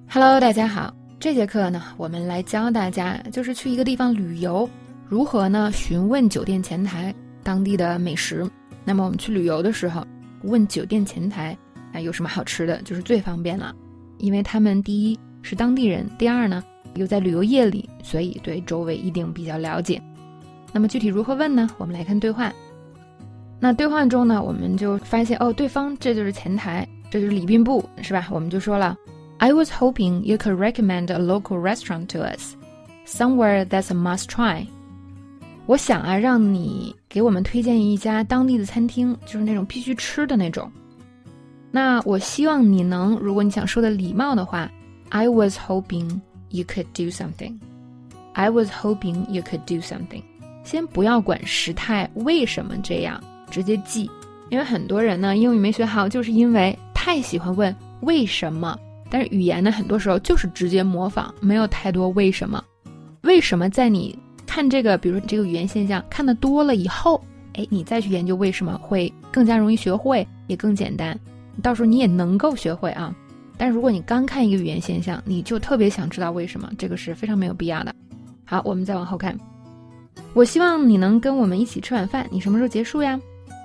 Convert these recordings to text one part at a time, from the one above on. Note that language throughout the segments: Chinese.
Hello， 大家好。这节课呢，我们来教大家就是去一个地方旅游，如何呢询问酒店前台当地的美食。那么我们去旅游的时候，问酒店前台有什么好吃的，就是最方便了。因为他们第一是当地人，第二呢又在旅游业里，所以对周围一定比较了解。那么具体如何问呢？我们来看对话。那对话中呢，我们就发现对方这就是前台，这就是礼宾部，是吧？我们就说了I was hoping you could recommend a local restaurant to us, somewhere that's a must try. 我想让你给我们推荐一家当地的餐厅，就是那种必须吃的那种。那我希望你能，如果你想说的礼貌的话 I was hoping you could do something. I was hoping you could do something. 先不要管时态为什么这样，直接记。因为很多人呢，英语没学好，就是因为太喜欢问为什么。但是语言呢，很多时候就是直接模仿，没有太多为什么。为什么在你看这个，比如说这个语言现象看得多了以后，你再去研究为什么会更加容易学会，也更简单。到时候你也能够学会啊。但是如果你刚看一个语言现象，你就特别想知道为什么，这个是非常没有必要的。好，我们再往后看。我希望你能跟我们一起吃晚饭，你什么时候结束呀？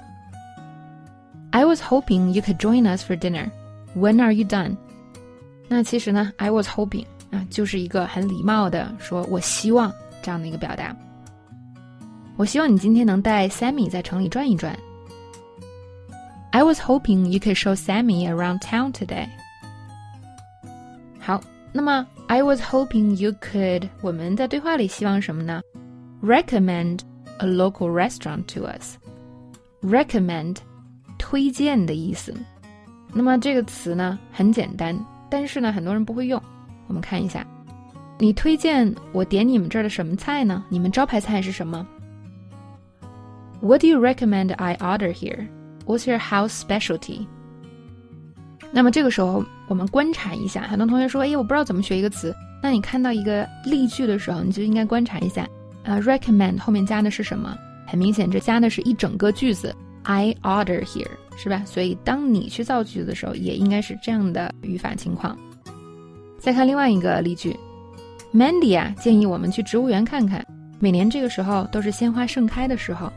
I was hoping you could join us for dinner. When are you done?那其实呢 I was hoping 就是一个很礼貌的说我希望这样的一个表达。我希望你今天能带 Sammy 在城里转一转。 I was hoping you could show Sammy around town today. 好，那么 I was hoping you could 我们在对话里希望什么呢？ Recommend a local restaurant to us. Recommend 推荐的意思。那么这个词呢很简单，但是呢很多人不会用。我们看一下，你推荐我点你们这儿的什么菜呢？你们招牌菜是什么？ What do you recommend I order here? What's your house specialty? 那么这个时候我们观察一下，很多同学说我不知道怎么学一个词。那你看到一个例句的时候，你就应该观察一下recommend 后面加的是什么？很明显这加的是一整个句子I order here， 是吧？所以当你去造句子的时候也应该是这样的语法情况。再看另外一个例句， Mandy 建议我们去植物园看看，每年这个时候都是鲜花盛开的时候。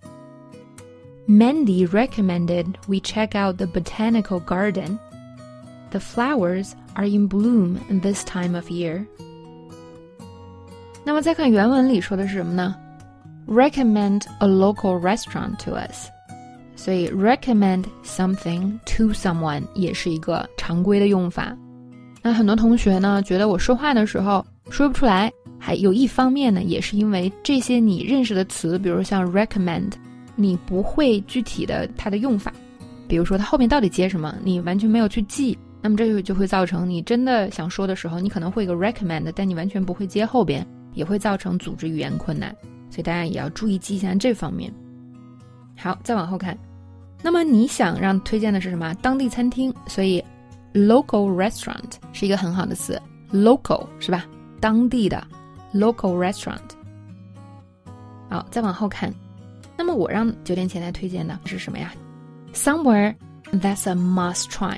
Mandy recommended we check out the botanical garden. The flowers are in bloom this time of year. 那么再看原文里说的是什么呢？ Recommend a local restaurant to us。所以 recommend something to someone 也是一个常规的用法。那很多同学呢觉得我说话的时候说不出来，还有一方面呢也是因为这些你认识的词，比如像 recommend 你不会具体的它的用法，比如说它后面到底接什么你完全没有去记，那么这就会造成你真的想说的时候你可能会有个 recommend， 但你完全不会接后边，也会造成组织语言困难，所以大家也要注意记一下这方面。好，再往后看。那么你想让推荐的是什么？当地餐厅，所以 local restaurant 是一个很好的词。 local 是吧？当地的 local restaurant。 好，再往后看。那么我让酒店前台推荐的是什么呀？ Somewhere that's a must try.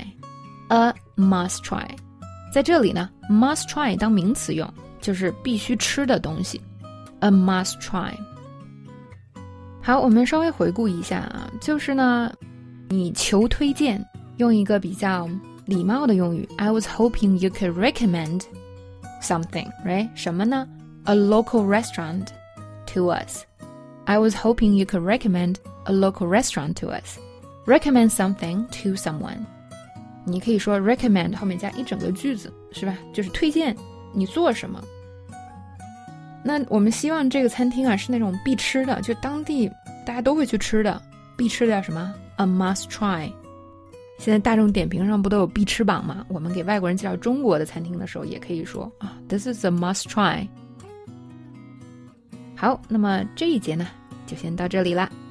A must try 在这里呢 must try 当名词用，就是必须吃的东西。 A must try。好，我们稍微回顾一下就是呢你求推荐用一个比较礼貌的用语 I was hoping you could recommend something, right? 什么呢？ A local restaurant to us. I was hoping you could recommend a local restaurant to us. Recommend something to someone. 你可以说 recommend 后面加一整个句子，是吧？就是推荐你做什么。那我们希望这个餐厅是那种必吃的，就当地大家都会去吃的，必吃的叫什么？ A must try。 现在大众点评上不都有必吃榜吗？我们给外国人介绍中国的餐厅的时候也可以说This is a must try。 好，那么这一节呢就先到这里啦。